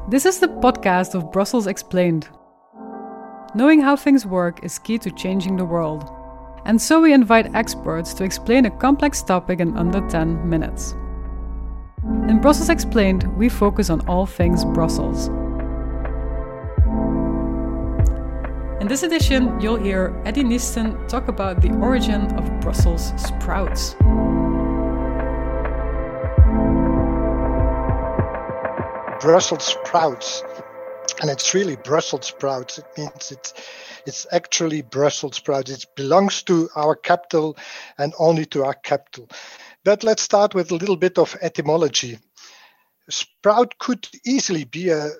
This is the podcast of Brussels Explained. Knowing how things work is key to changing the world. And so we invite experts to explain a complex topic in under 10 minutes. In Brussels Explained, we focus on all things Brussels. In this edition, you'll hear Eddie Niesten talk about the origin of Brussels sprouts. Brussels sprouts, and it's really Brussels sprouts. It means it's actually Brussels sprouts. It belongs to our capital and only to our capital. But let's start with a little bit of etymology. Sprout could easily be a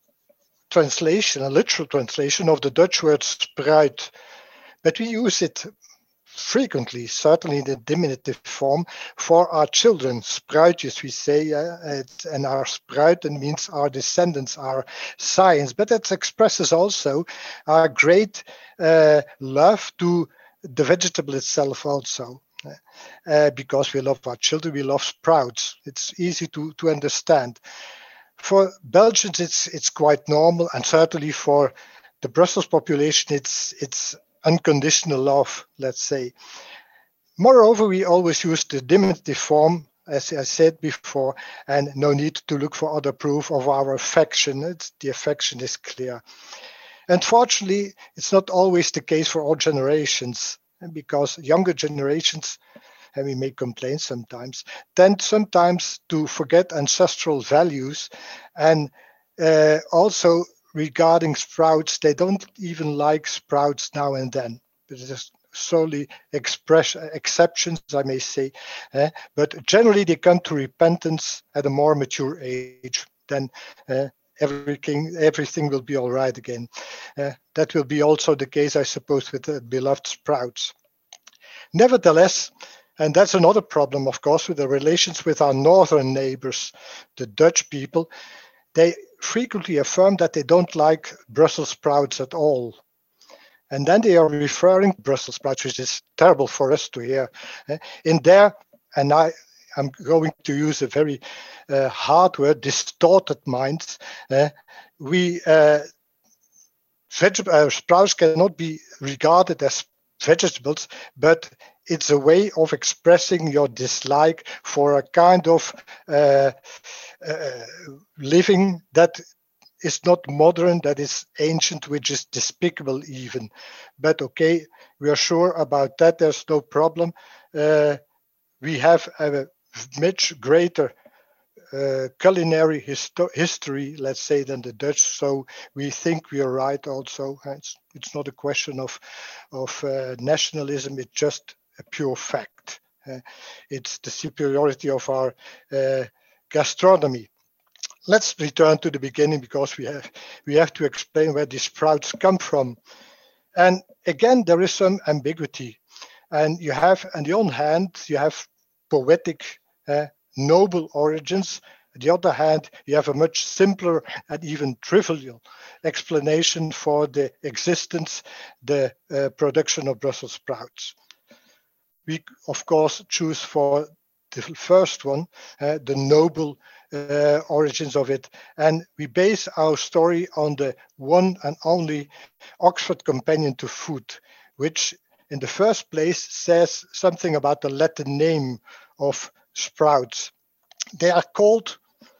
literal translation of the Dutch word spruit, but we use it frequently, certainly in the diminutive form, for our children. Spruitjes, we say, and our sprout means our descendants, our science. But that expresses also our great love to the vegetable itself also. Because we love our children, we love sprouts. It's easy to understand. For Belgians, it's quite normal, and certainly for the Brussels population, it's unconditional love, let's say. Moreover, we always use the diminutive form, as I said before, and no need to look for other proof of our affection. The affection is clear. Unfortunately, it's not always the case for all generations, because younger generations, and we make complaints sometimes, tend sometimes to forget ancestral values, and also regarding sprouts, they don't even like sprouts now and then. But it is solely exceptions, I may say. But generally, they come to repentance at a more mature age. Then everything will be all right again. That will be also the case, I suppose, with the beloved sprouts. Nevertheless, and that's another problem, of course, with the relations with our northern neighbors, the Dutch people. They frequently affirm that they don't like Brussels sprouts at all. And then they are referring to Brussels sprouts, which is terrible for us to hear. In there, and I'm going to use a very hard word, distorted minds, sprouts cannot be regarded as vegetables, but it's a way of expressing your dislike for a kind of living that is not modern, that is ancient, which is despicable even. But okay, we are sure about that. There's no problem. We have a much greater culinary history, let's say, than the Dutch. So we think we are right also. It's not a question of nationalism. It's just a pure fact. It's the superiority of our gastronomy. Let's return to the beginning, because we have to explain where these sprouts come from. And again, there is some ambiguity. And you have, on the one hand, you have poetic, noble origins. On the other hand, you have a much simpler and even trivial explanation for the existence, the production of Brussels sprouts. We, of course, choose for the first one, the noble origins of it. And we base our story on the one and only Oxford Companion to Food, which in the first place says something about the Latin name of sprouts. They are called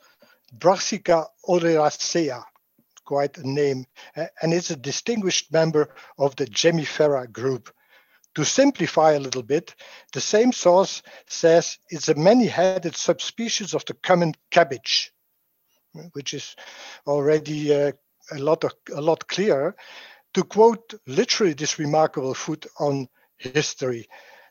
Brassica oleracea, quite a name, and it's a distinguished member of the Gemifera group. To simplify a little bit, the same source says it's a many-headed subspecies of the common cabbage, which is already a lot clearer. To quote literally this remarkable food on history.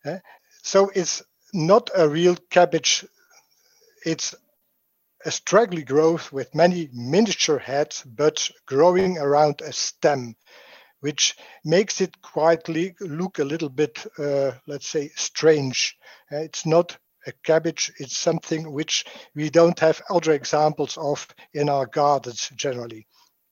So it's not a real cabbage. It's a straggly growth with many miniature heads, but growing around a stem, which makes it look a little bit, let's say, strange. It's not a cabbage, it's something which we don't have other examples of in our gardens generally.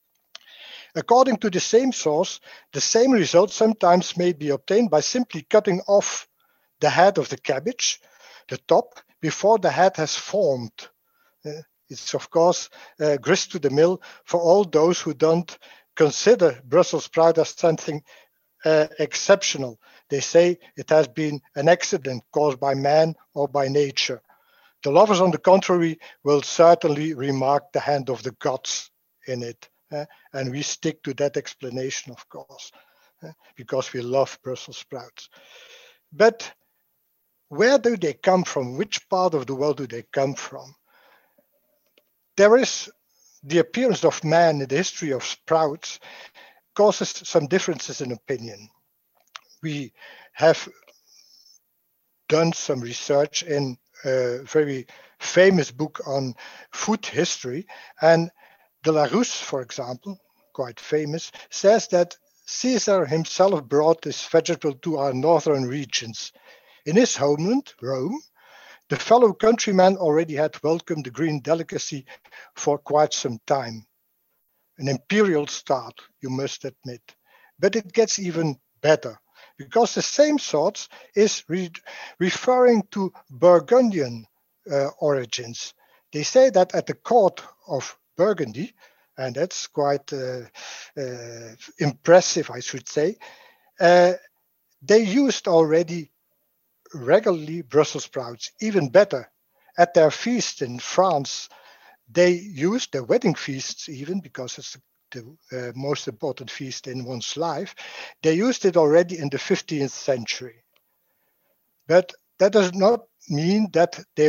According to the same source, the same result sometimes may be obtained by simply cutting off the head of the cabbage, the top, before the head has formed. It's of course grist to the mill for all those who don't consider Brussels sprout as something exceptional. They say it has been an accident caused by man or by nature. The lovers, on the contrary, will certainly remark the hand of the gods in it. And we stick to that explanation, of course, because we love Brussels sprouts. But where do they come from? Which part of the world do they come from? There is the appearance of man in the history of sprouts causes some differences in opinion. We have done some research in a very famous book on food history, and de la Rousse, for example, quite famous, says that Caesar himself brought this vegetable to our northern regions. In his homeland, Rome, the fellow countryman already had welcomed the green delicacy for quite some time. An imperial start, you must admit. But it gets even better, because the same thoughts is referring to Burgundian origins. They say that at the court of Burgundy, and that's quite impressive, I should say, they used already regularly Brussels sprouts. Even better, at their feast in France, they used their wedding feasts, even because it's the most important feast in one's life. They used it already in the 15th century. But that does not mean that they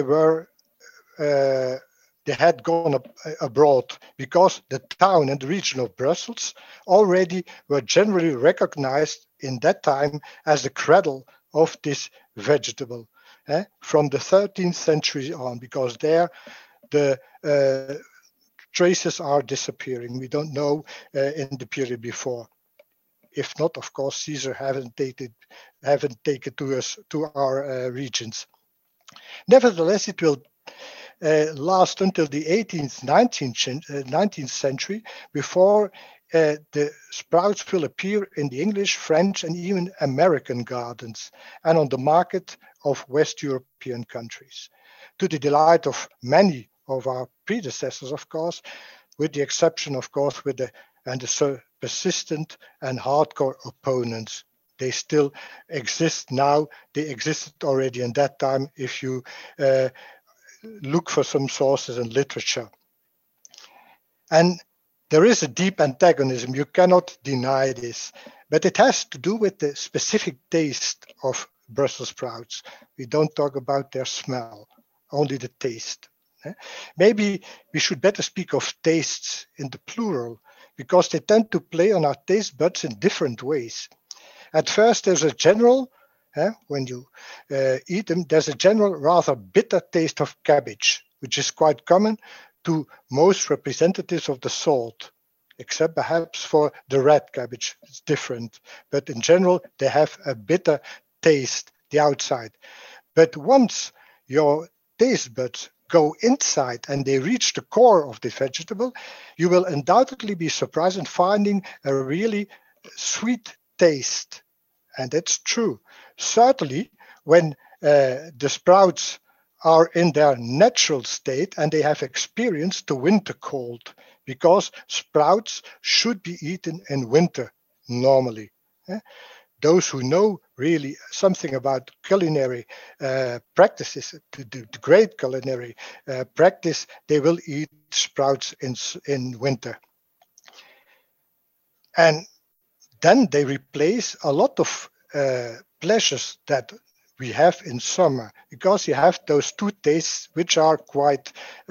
had gone abroad, because the town and the region of Brussels already were generally recognized in that time as the cradle of this vegetable from the 13th century on, because there the traces are disappearing. We don't know in the period before. If not, of course, Caesar haven't taken to our regions. Nevertheless, it will last until the 18th, 19th century before the sprouts will appear in the English, French, and even American gardens and on the market of West European countries, to the delight of many of our predecessors, of course, with the exception, of course, with the persistent and hardcore opponents. They still exist now. They existed already in that time if you look for some sources in literature. And there is a deep antagonism. You cannot deny this. But it has to do with the specific taste of Brussels sprouts. We don't talk about their smell, only the taste. Maybe we should better speak of tastes in the plural, because they tend to play on our taste buds in different ways. At first, there's a general, when you eat them, there's a general rather bitter taste of cabbage, which is quite common to most representatives of the salt, except perhaps for the red cabbage. It's different. But in general, they have a bitter taste, the outside. But once your taste buds go inside and they reach the core of the vegetable, you will undoubtedly be surprised in finding a really sweet taste. And that's true. Certainly, when the sprouts are in their natural state and they have experienced the winter cold, because sprouts should be eaten in winter normally. Those who know really something about culinary practices, the great culinary practice, they will eat sprouts in winter. And then they replace a lot of pleasures that we have in summer, because you have those two tastes which are quite,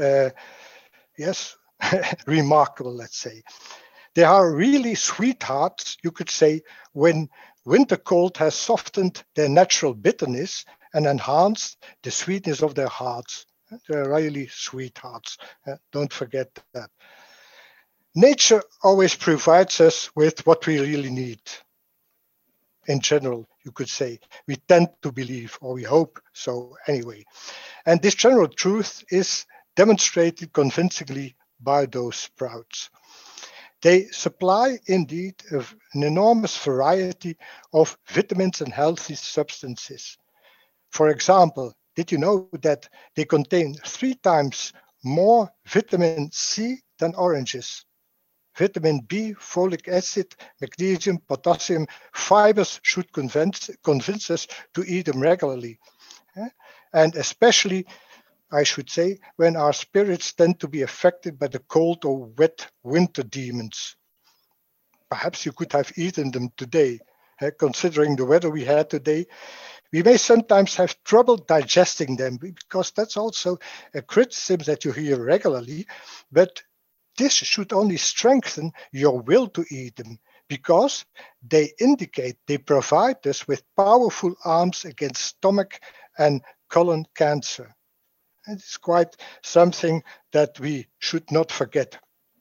remarkable, let's say. They are really sweethearts, you could say, when winter cold has softened their natural bitterness and enhanced the sweetness of their hearts. They're really sweethearts. Don't forget that. Nature always provides us with what we really need. In general, you could say, we tend to believe, or we hope so anyway. And this general truth is demonstrated convincingly by those sprouts. They supply indeed an enormous variety of vitamins and healthy substances. For example, did you know that they contain 3 times more vitamin C than oranges. Vitamin B, folic acid, magnesium, potassium, fibers should convince us to eat them regularly. And especially, I should say, when our spirits tend to be affected by the cold or wet winter demons. Perhaps you could have eaten them today. Considering the weather we had today, we may sometimes have trouble digesting them, because that's also a criticism that you hear regularly. But this should only strengthen your will to eat them, because they indicate, they provide us with powerful arms against stomach and colon cancer. And it's quite something that we should not forget.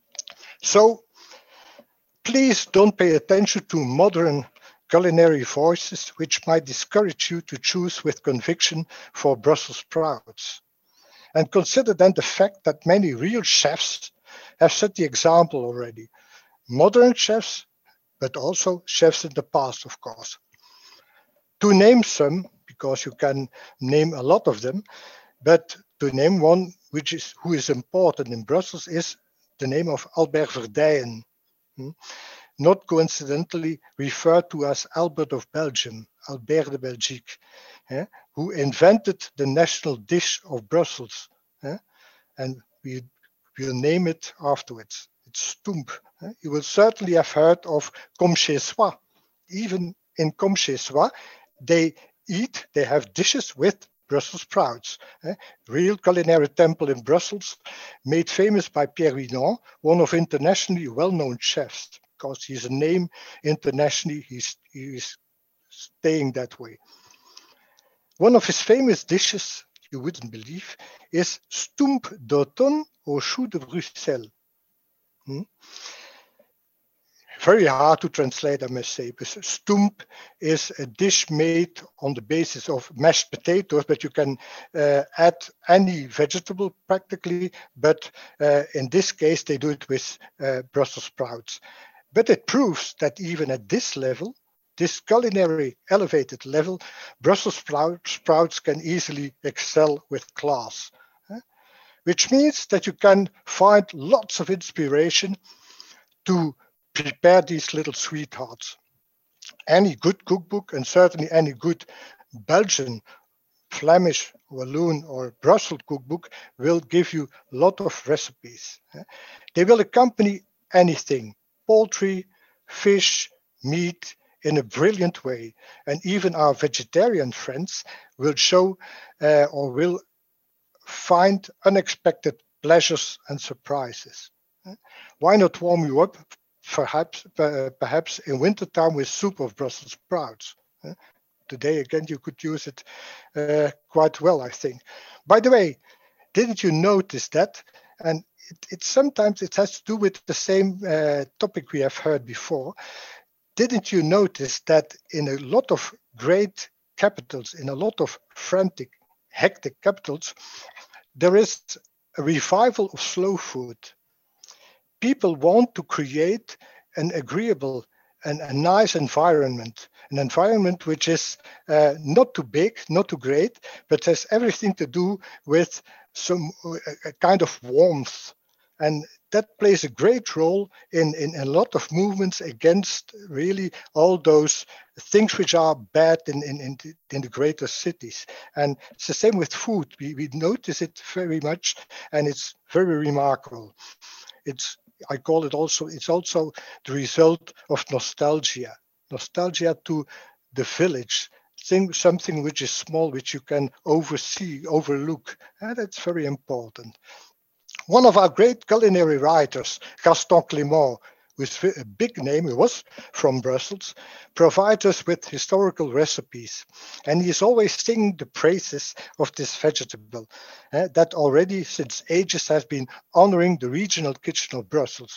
So please don't pay attention to modern culinary voices which might discourage you to choose with conviction for Brussels sprouts. And consider then the fact that many real chefs have set the example already. Modern chefs, but also chefs in the past, of course. To name some, because you can name a lot of them, but to name one who is important in Brussels is the name of Albert Verdijen. Not coincidentally referred to as Albert of Belgium, Albert de Belgique, who invented the national dish of Brussels. And we will name it afterwards. It's Stoemp. You will certainly have heard of Comme chez soi. Even in Comme chez soi, they have dishes with Brussels sprouts. Real culinary temple in Brussels, made famous by Pierre Winon, one of internationally well-known chefs. Because he's a name internationally, he's staying that way. One of his famous dishes, you wouldn't believe, is Stoemp d'automne au choux de Bruxelles. Very hard to translate, I must say, because Stoemp is a dish made on the basis of mashed potatoes, but you can add any vegetable practically. But in this case, they do it with Brussels sprouts. But it proves that even at this level, this culinary elevated level, Brussels sprouts can easily excel with class. Which means that you can find lots of inspiration to prepare these little sweethearts. Any good cookbook, and certainly any good Belgian, Flemish, Walloon, or Brussels cookbook will give you a lot of recipes. They will accompany anything, poultry, fish, meat, in a brilliant way. And even our vegetarian friends will show or will find unexpected pleasures and surprises. Why not warm you up, perhaps in wintertime, with soup of Brussels sprouts? Today, again, you could use it quite well, I think. By the way, didn't you notice that? And sometimes it has to do with the same topic we have heard before. Didn't you notice that in a lot of great capitals, in a lot of frantic, hectic capitals, there is a revival of slow food? People want to create an agreeable and a nice environment, an environment which is not too big, not too great, but has everything to do with some a kind of warmth. And that plays a great role in a lot of movements against really all those things which are bad in the greater cities. And it's the same with food. We notice it very much, and it's very remarkable. I call it also, it's also the result of nostalgia to the village, something which is small, which you can overlook. And that's very important. One of our great culinary writers, Gaston Clément, with a big name, he was from Brussels, provides us with historical recipes. And he's always singing the praises of this vegetable that already since ages has been honoring the regional kitchen of Brussels.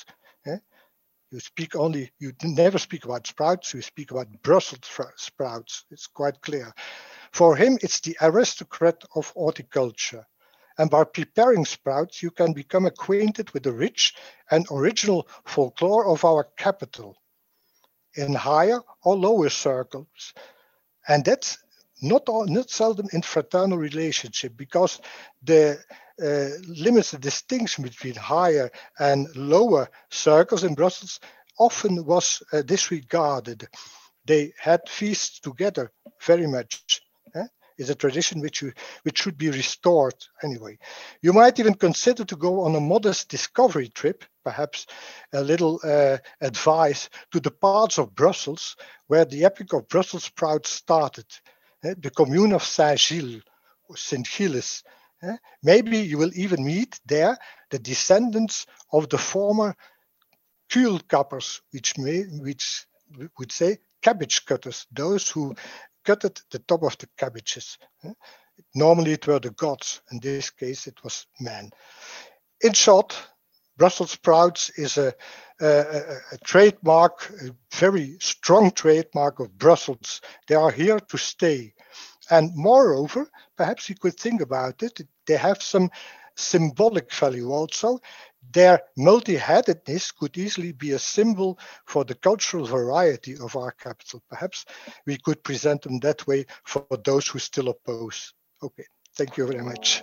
You never speak about sprouts, you speak about Brussels sprouts. It's quite clear. For him, it's the aristocrat of horticulture. And by preparing sprouts, you can become acquainted with the rich and original folklore of our capital in higher or lower circles. And that's not seldom in fraternal relationship, because the limits the distinction between higher and lower circles in Brussels often was disregarded. They had feasts together very much. Is a tradition which should be restored anyway. You might even consider to go on a modest discovery trip, perhaps a little advice to the parts of Brussels where the Epic of Brussels Sprouts started, the commune of Saint-Gilles, or Saint-Gilles. Maybe you will even meet there the descendants of the former kuilkappers, which would say cabbage cutters, those who gutted the top of the cabbages. Normally it were the gods. In this case, it was man. In short, Brussels sprouts is a trademark, a very strong trademark of Brussels. They are here to stay. And moreover, perhaps you could think about it, they have some symbolic value also. Their multi-headedness could easily be a symbol for the cultural variety of our capital. Perhaps we could present them that way for those who still oppose. Okay, thank you very much.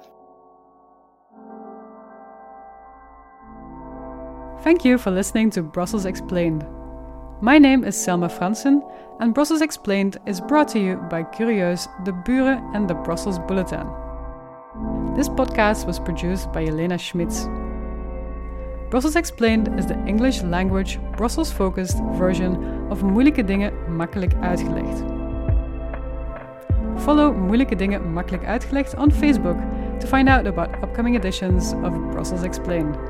Thank you for listening to Brussels Explained. My name is Selma Fransen, and Brussels Explained is brought to you by Curieus, De Buren, and the Brussels Bulletin. This podcast was produced by Elena Schmitz. Brussels Explained is the English language, Brussels-focused version of Moeilijke Dingen Makkelijk Uitgelegd. Follow Moeilijke Dingen Makkelijk Uitgelegd on Facebook to find out about upcoming editions of Brussels Explained.